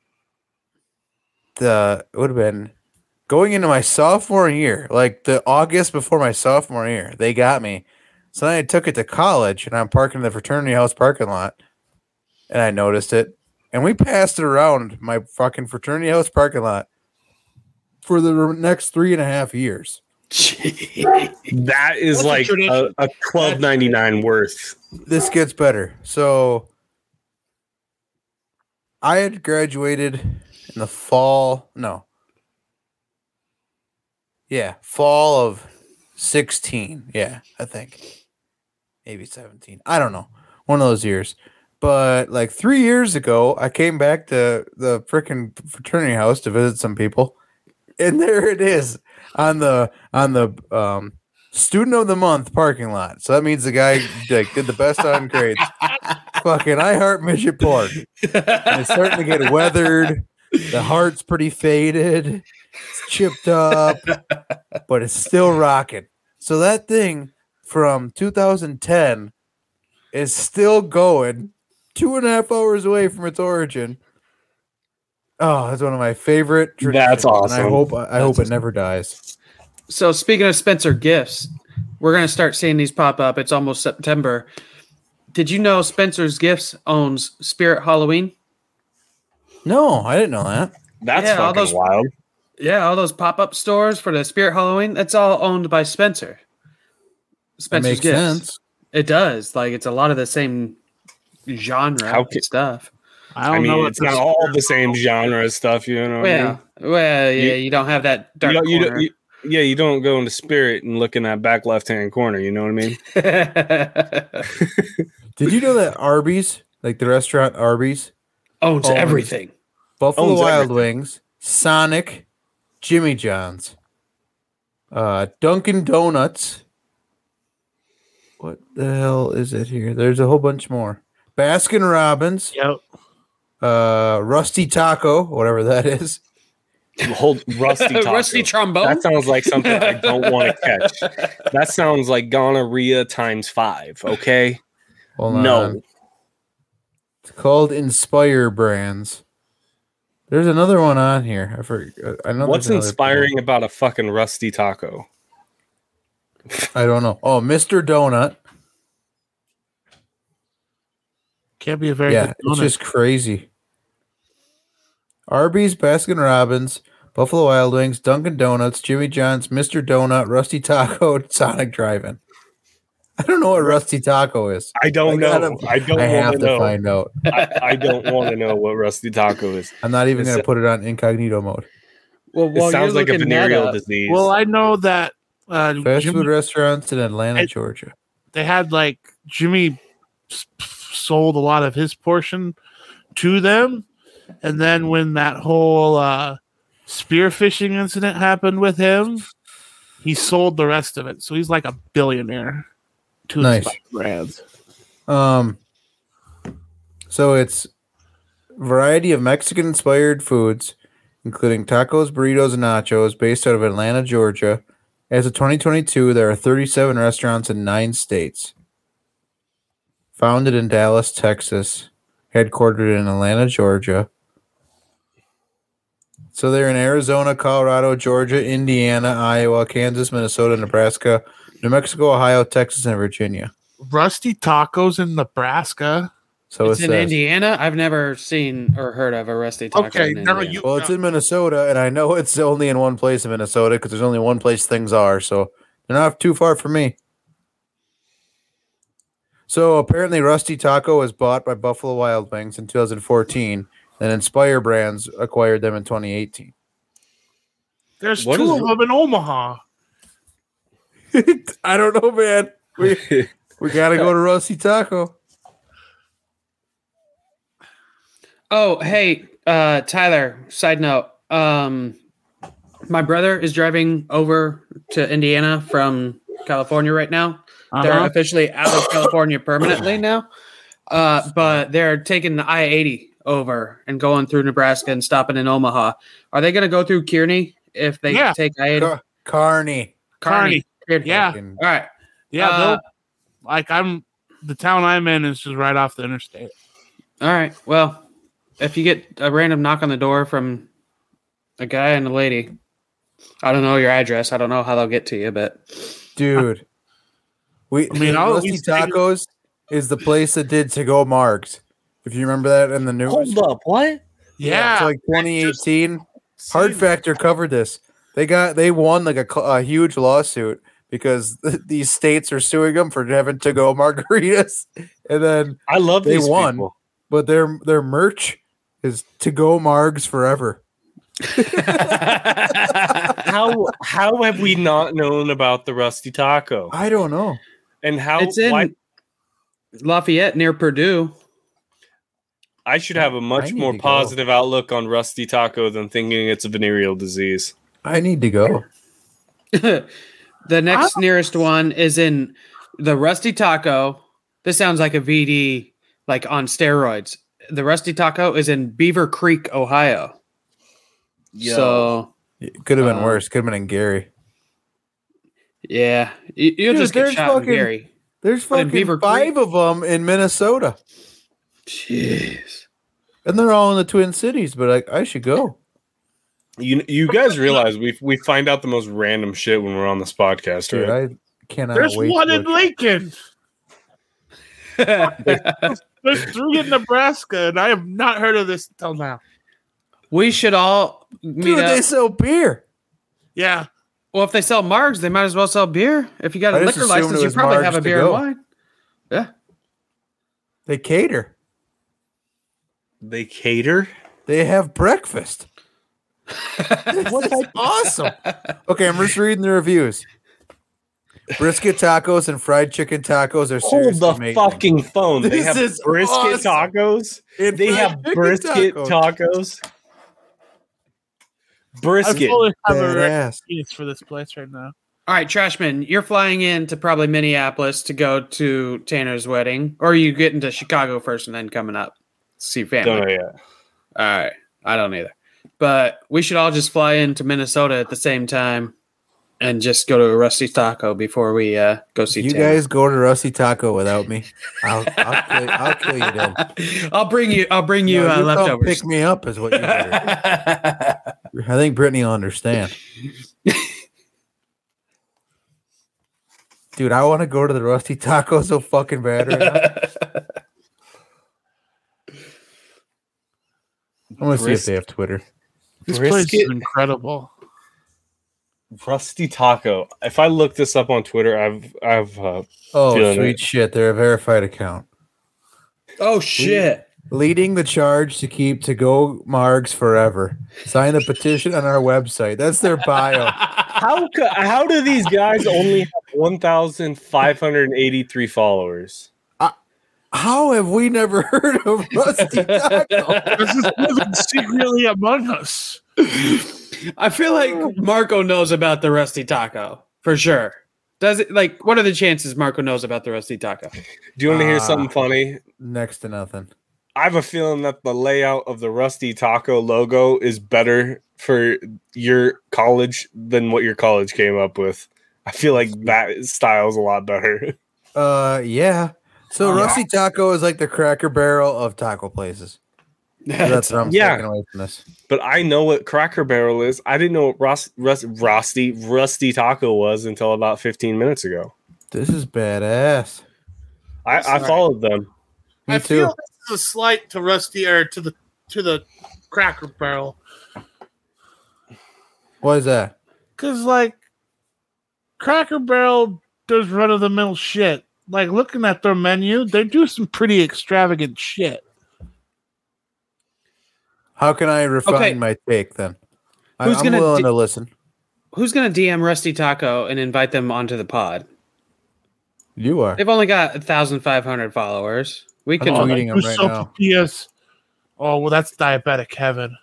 it would have been going into my sophomore year, like the August before my sophomore year. They got me. So then I took it to college, and I'm parking in the fraternity house parking lot, and I noticed it. And we passed it around my fucking fraternity house parking lot for the next 3.5 years. That is That's a like tradition. a $12.99 worth. This gets better. So I had graduated in the fall. No. Yeah, fall of 16. Yeah, I think. Maybe 17. I don't know. One of those years. But like 3 years ago, I came back to the freaking fraternity house to visit some people. And there it is on the student of the month parking lot. So that means the guy like, did the best on grades. Fucking I Heart Midget Pork. And it's starting to get weathered. The heart's pretty faded. It's chipped up, but it's still rocking. So that thing from 2010 is still going 2.5 hours away from its origin. Oh, that's one of my favorite traditions. That's awesome. And I hope it never dies. So speaking of Spencer Gifts, we're going to start seeing these pop up. It's almost September. Did you know Spencer's Gifts owns Spirit Halloween? No, I didn't know that. That's Yeah, all fucking those- wild. Yeah, all those pop-up stores for the Spirit Halloween, that's all owned by Spencer. That Spencer's makes Gifts. sense. It does. Like, it's a lot of the same genre How and ca- stuff. I mean, it's not all the same genre stuff, you know. What I mean? Well, yeah, you don't have that dark corner. You don't go into Spirit and look in that back left-hand corner. You know what I mean? Did you know that Arby's, like the restaurant Arby's, Owns Owns everything. Buffalo Owns Wild everything. Wings, Sonic, Jimmy John's, Dunkin' Donuts. What the hell is it here? There's a whole bunch more. Baskin Robbins, Yep. Rusty Taco, whatever that is. Hold Rusty Taco. Rusty trombone. That sounds like something I don't want to catch. That sounds like gonorrhea times 5. Okay. Hold No. on. It's called Inspire Brands. There's another one on here. I forget. I know. What's there's another inspiring about a fucking Rusty Taco? one. I don't know. Oh, Mr. Donut. Can't be a very Yeah, good it's donut. just crazy. Arby's, Baskin Robbins, Buffalo Wild Wings, Dunkin' Donuts, Jimmy John's, Mr. Donut, Rusty Taco, Sonic Drive-In. I don't know what Rusty Taco is. I don't I know. gotta- I don't I have want to to know. find out. I don't want to know what Rusty Taco is. I'm not even It's going a- to put it on incognito mode. Well, It sounds like a venereal disease. Well, I know that Fast Jimmy, food restaurants in Atlanta, I- Georgia. they had like Jimmy sold a lot of his portion to them, and then when that whole spearfishing incident happened with him, he sold the rest of it. So he's like a billionaire to Nice. his brands. So it's a variety of Mexican-inspired foods, including tacos, burritos, and nachos, based out of Atlanta, Georgia. As of 2022, there are 37 restaurants in 9 states. Founded in Dallas, Texas, headquartered in Atlanta, Georgia. So they're in Arizona, Colorado, Georgia, Indiana, Iowa, Kansas, Minnesota, Nebraska, New Mexico, Ohio, Texas, and Virginia. Rusty Tacos in Nebraska. So It's it in says. Indiana. I've never seen or heard of a Rusty Taco. Okay, in no, Indiana. you- Well, it's in Minnesota, and I know it's only in one place in Minnesota because there's only one place things are, so they're not too far from me. So apparently, Rusty Taco was bought by Buffalo Wild Wings in 2014, and Inspire Brands acquired them in 2018. There's What two is of them in Omaha. I don't know, man. We gotta go to Rusty Taco. Oh, hey, Tyler, side note. My brother is driving over to Indiana from California right now. They're Uh-huh. officially out of California permanently now. But they're taking the I-80 over and going through Nebraska and stopping in Omaha. Are they going to go through Kearney if they Yeah. take I-80? Carney. Kearney. Yeah. Fucking- All right. Yeah, Uh, the town I'm in is just right off the interstate. All right. Well, if you get a random knock on the door from a guy and a lady, I don't know your address. I don't know how they'll get to you, but Dude. I mean, I'll at Rusty least take- Tacos is the place that did to-go margs. If you remember that in the news. Hold up, what? Yeah, It's like 2018. Hard Factor covered this. They won like a huge lawsuit because these states are suing them for having to go margaritas, and then I love They these won. people. but their merch is to go margs forever. How have we not known about the Rusty Taco? I don't know. And how It's in why Lafayette near Purdue. I should have a I much need more to go. positive outlook on Rusty Taco than thinking it's a venereal disease. I need to go. The next nearest one is in the Rusty Taco. This sounds like a VD, like on steroids. The Rusty Taco is in Beaver Creek, Ohio. So, It could have been worse. Could have been in Gary. yeah, you'll Dude, just get there's shot in fucking- Gary. There's But in fucking Beaver 5 of them in Minnesota. Jeez. And they're all in the Twin Cities, but I should go. You guys realize we find out the most random shit when we're on this podcast, Dude, right? I cannot There's wait. one to in look. Lincoln. There's 3 in Nebraska, and I have not heard of this until now. We should all meet Dude, they up. sell beer. Yeah. Well, if they sell margs, they might as well sell beer. If you got a I just liquor assumed license, it you was probably margs have a to beer go. and wine. Yeah. They cater. They cater. They have breakfast. That's awesome. Okay, I'm just reading the reviews. Brisket tacos and fried chicken tacos are Hold seriously the amazing. fucking phone. They This have is brisket awesome. tacos. And They fried have chicken brisket tacos. I Brisket. fully have a Badass. reference for this place right now. All right, Trashman, you're flying in to probably Minneapolis to go to Tanner's wedding, or are you getting to Chicago first and then coming up to see family? Don't know yet. All right, I don't either. But we should all just fly into Minnesota at the same time and just go to a Rusty Taco before we go see You Tanner. guys go to Rusty Taco without me. I'll kill you then. I'll bring you No, you come leftovers. pick me up is what you better. I think Brittany will understand. Dude, I want to go to the Rusty Taco so fucking bad right now. I'm gonna see if they have Twitter. This place Brisket. is incredible. Rusty Taco. If I look this up on Twitter, I've Oh, Feeling sweet it. shit! They're a verified account, Oh shit! leading the charge to keep to go Margs forever. Sign the petition on our website. That's their bio. how do these guys only have 1,583 followers? How have we never heard of Rusty Taco? This is living secretly among us. I feel like Marco knows about the Rusty Taco for sure. Does it? Like, what are the chances Marco knows about the Rusty Taco? Do you want to hear something funny? Next to nothing. I have a feeling that the layout of the Rusty Taco logo is better for your college than what your college came up with. I feel like that style is a lot better. Yeah. So Rusty Taco is like the Cracker Barrel of taco places. That's what I'm Yeah. taking away from this. But I know what Cracker Barrel is. I didn't know what Rusty Taco was until about 15 minutes ago. This is badass. I followed them. Me I too. feel this is a slight to Rusty or to the Cracker Barrel What is that? because like Cracker Barrel does run of the mill shit. Like looking at their menu, they do some pretty extravagant shit. How can I refine Okay. my take then? Who's I'm gonna willing to listen. Who's gonna DM Rusty Taco and invite them onto the pod? You are. They've only got 1,500 followers. We I'm can. tweeting them right now. Yes. Oh well, that's diabetic heaven.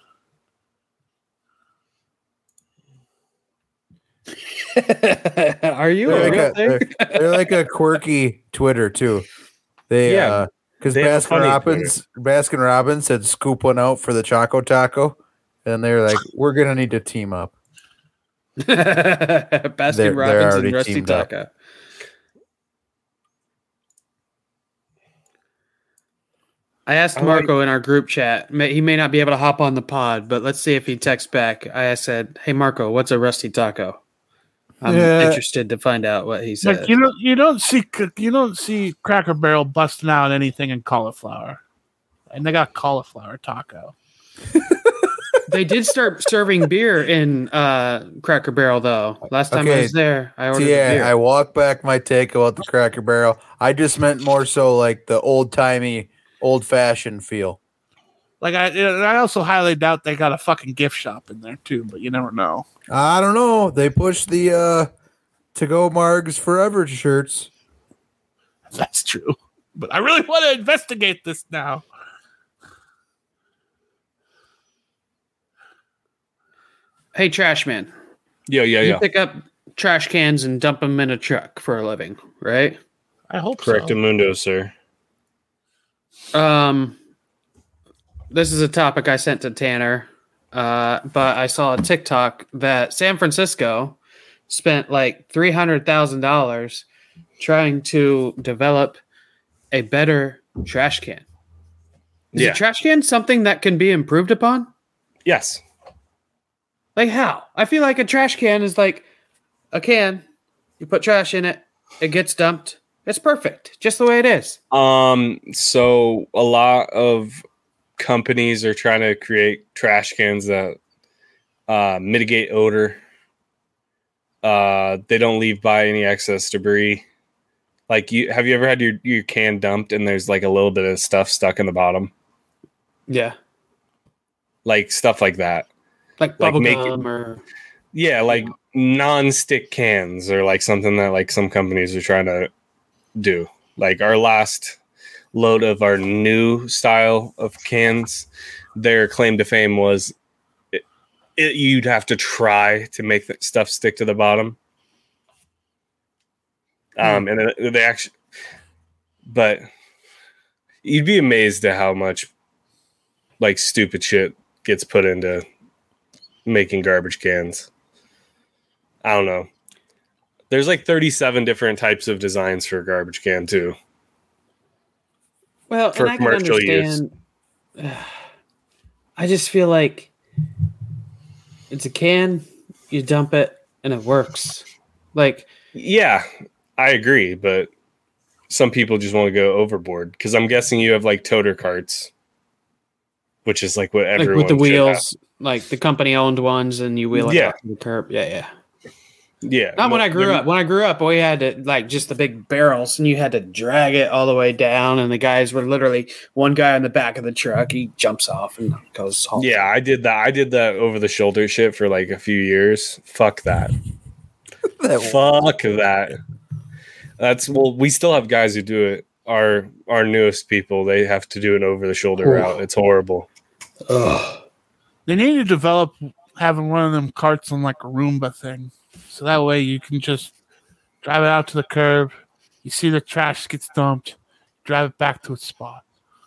Are you They're a like real a, thing? they're like a quirky Twitter too. They Yeah, because they have a funny Baskin Robbins said scoop one out for the Choco Taco, and they're like, we're gonna need to team up. Baskin They're Robbins already and Rusty teamed up. Taco. I asked I like- Marco in our group chat. He may not be able to hop on the pod, but let's see if he texts back. I said, "Hey Marco, what's a Rusty Taco?" I'm Yeah. interested to find out what he said. Like you don't see Cracker Barrel busting out anything in cauliflower, and they got cauliflower taco. They did start serving beer in Cracker Barrel though. Last time I Okay. was there, I ordered Yeah, beer. I walk back my take about the Cracker Barrel. I just meant more so like the old timey, old fashioned feel. Like I also highly doubt they got a fucking gift shop in there too, but you never know. I don't know. They pushed the to-go Margs Forever shirts. That's true. But I really want to investigate this now. Hey, trash man. Yeah. You pick up trash cans and dump them in a truck for a living, right? I hope Correct, so. Mundo, sir. This is a topic I sent to Tanner, but I saw a TikTok that San Francisco spent like $300,000 trying to develop a better trash can. Is a trash can something that can be improved upon? Yes. Like how? I feel like a trash can is like a can. You put trash in it, it gets dumped. It's perfect, just the way it is. So a lot of companies are trying to create trash cans that mitigate odor. They don't leave by any excess debris. Like have you ever had your can dumped and there's like a little bit of stuff stuck in the bottom? Yeah. Like stuff like that. Like Like bubble make gum or Yeah, like non-stick cans or like something that like some companies are trying to do. Like our last load of our new style of cans, their claim to fame was you'd have to try to make the stuff stick to the bottom. And they actually, but you'd be amazed at how much like stupid shit gets put into making garbage cans. I don't know. There's like 37 different types of designs for a garbage can too. well, For and I can commercial use. understand. I just feel like it's a can, you dump it, and it works. Like, Yeah, I agree, but some people just want to go overboard because I'm guessing you have like toter carts, which is like what everyone with the should have. wheels, like the company owned ones, and you wheel it Yeah. out to the curb. Yeah. Yeah, Not when I grew up. When I grew up, we had to like just the big barrels, and you had to drag it all the way down. And the guys were literally one guy on the back of the truck. He jumps off and goes home. Yeah, I did that. I did that over the shoulder shit for like a few years. Fuck that. Fuck that. We still have guys who do it. Our newest people, they have to do an over the shoulder route. It's horrible. Ugh. They need to develop having one of them carts on like a Roomba thing. So that way you can just drive it out to the curb. You see the trash gets dumped. Drive it back to its spot.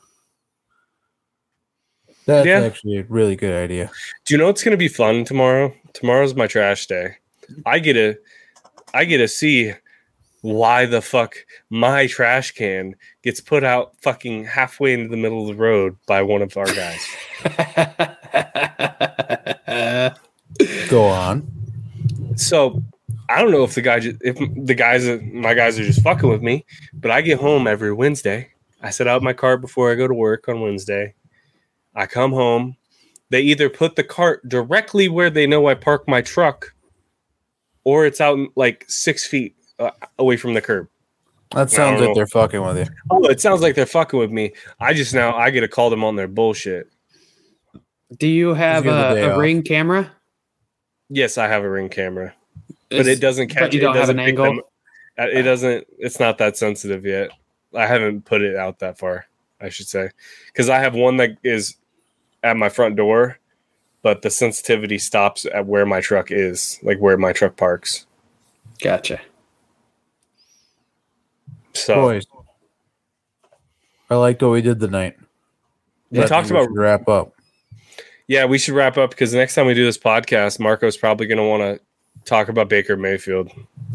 That's Yeah. actually a really good idea. Do you know what's going to be fun tomorrow? Tomorrow's my trash day. I get to see why the fuck my trash can gets put out fucking halfway into the middle of the road by one of our guys. Go on. So I don't know if my guys are just fucking with me, but I get home every Wednesday. I set out my cart before I go to work on Wednesday. I come home. They either put the cart directly where they know I park my truck, or it's out like 6 feet away from the curb. That sounds like they're fucking with you. Oh, it sounds like they're fucking with me. I get to call them on their bullshit. Do you have Just give the day a off. Ring camera? Yes, I have a Ring camera, but it doesn't catch. But you don't it have doesn't an pick angle? them- It doesn't. It's not that sensitive yet. I haven't put it out that far, I should say, because I have one that is at my front door, but the sensitivity stops at where my truck is, like where my truck parks. Gotcha. So Boys, I liked what we did tonight. we I talked think about. should wrap up. Yeah, we should wrap up because the next time we do this podcast, Marco's probably going to want to talk about Baker Mayfield.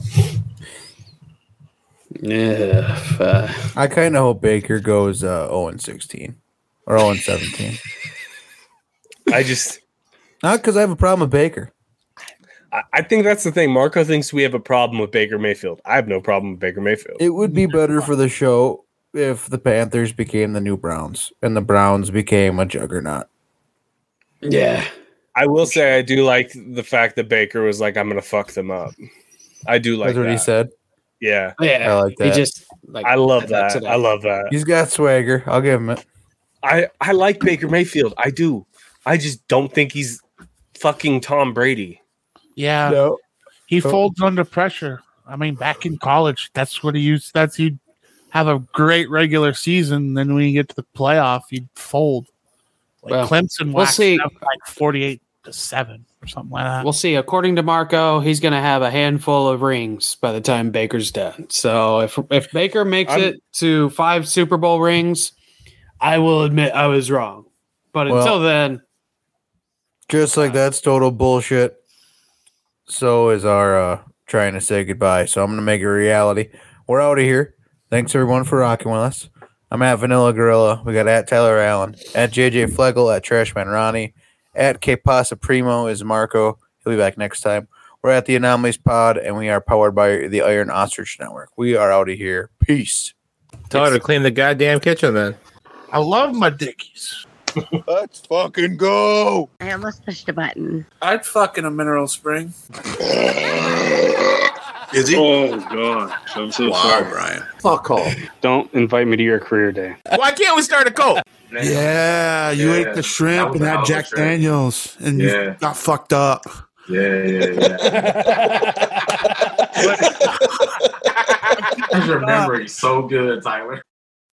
Yeah. I kind of hope Baker goes 0-16 or 0-17. I just. Not because I have a problem with Baker. I think that's the thing. Marco thinks we have a problem with Baker Mayfield. I have no problem with Baker Mayfield. It would be better for the show if the Panthers became the new Browns and the Browns became a juggernaut. Yeah. I will say I do like the fact that Baker was like, I'm going to fuck them up. I do like That's what that. he said. Yeah. Yeah. I like He that. just like I love that's that. it. I love that. He's got swagger. I'll give him it. I like Baker Mayfield. I do. I just don't think he's fucking Tom Brady. Yeah. No. He folds under pressure. I mean, back in college, that's what he used. He'd have a great regular season. Then when you get to the playoff, he'd fold. Like Well, Clemson we'll waxed see. up like 48-7 or something like that. We'll see. According to Marco, he's going to have a handful of rings by the time Baker's done. So if Baker makes it to 5 Super Bowl rings, I will admit I was wrong. But until then, Just like that's total bullshit. So is our trying to say goodbye. So I'm going to make it a reality. We're out of here. Thanks, everyone, for rocking with us. I'm at Vanilla Gorilla. We got at Tyler Allen, at JJ Flegel, at Trashman Ronnie, at K Pasa Primo is Marco. He'll be back next time. We're at the Anomalies Pod, and we are powered by the Iron Ostrich Network. We are out of here. Peace. Tell her to clean the goddamn kitchen then. I love my Dickies. Let's fucking go. I almost pushed a button. I'd fuck in a mineral spring. Is he? Oh god, I'm so Wow, sorry. Brian. Fuck off. Don't invite me to your career day. Why can't we start a cult? Yeah, you ate the shrimp and had Jack Daniels, and you got fucked up. Yeah. I remember so good, Tyler.